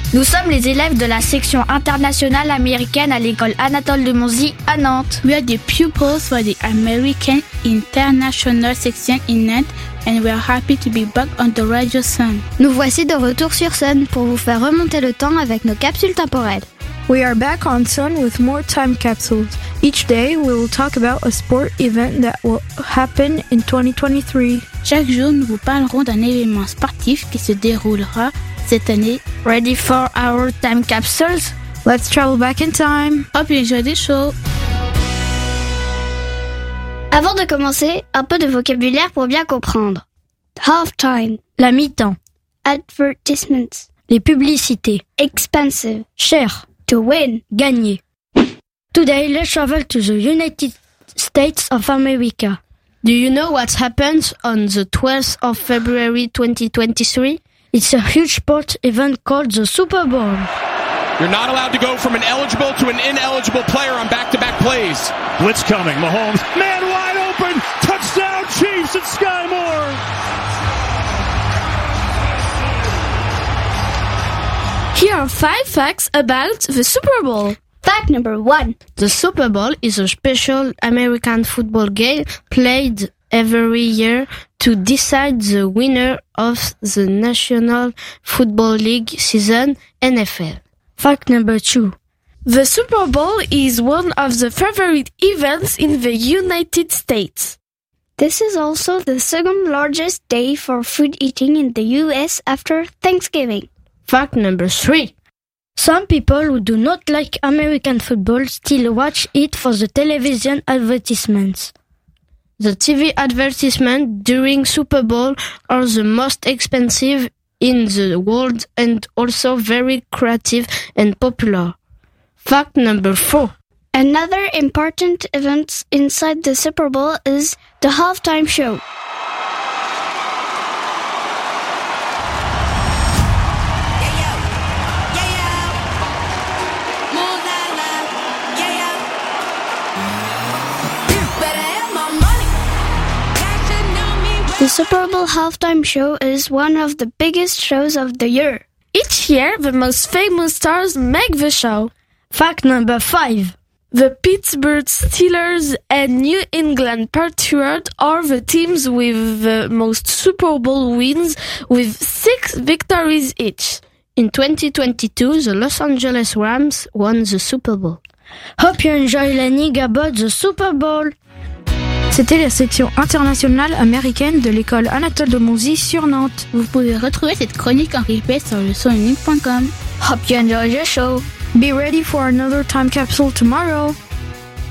Nous sommes les élèves de la section internationale américaine à l'école Anatole de Monzie à Nantes. We are the pupils for the American International Section in Nantes and we are happy to be back on the Radio Sun. Nous voici de retour sur Sun pour vous faire remonter le temps avec nos capsules temporelles. We are back on Sun with more time capsules. Each day we will talk about a sport event that will happen in 2023. Chaque jour, nous vous parlerons d'un événement sportif qui se déroulera cette année. Ready for our time capsules? Let's travel back in time. Hope you enjoy the show. Avant de commencer, un peu de vocabulaire pour bien comprendre. Halftime, La mi-temps. advertisements, Les publicités. expensive, Cher. to win, Gagner. Today, let's travel to the United States of America. Do you know what happens on the 12th of February 2023? It's a huge sport event called the Super Bowl. You're not allowed to go from an eligible to an ineligible player on back-to-back plays. Blitz coming. Mahomes, man wide open. Touchdown Chiefs at Sky Moore. Here are 5 facts about the Super Bowl. Fact number 1. The Super Bowl is a special American football game played every year to decide the winner of the National Football League season, NFL. Fact number 2. The Super Bowl is one of the favorite events in the United States. This is also the second largest day for food eating in the US after Thanksgiving. Fact number 3. Some people who do not like American football still watch it for the television advertisements. The TV advertisements during Super Bowl are the most expensive in the world and also very creative and popular. Fact number 4. Another important event inside the Super Bowl is the halftime show. The Super Bowl halftime show is one of the biggest shows of the year. Each year, the most famous stars make the show. Fact number 5. The Pittsburgh Steelers and New England Patriots are the teams with the most Super Bowl wins, with 6 victories each. In 2022, the Los Angeles Rams won the Super Bowl. Hope you enjoy learning about the Super Bowl. C'était la section internationale américaine de l'école Anatole de Monzie sur Nantes. Vous pouvez retrouver cette chronique en replay sur leçonunique.com. Hope you enjoy the show. Be ready for another time capsule tomorrow.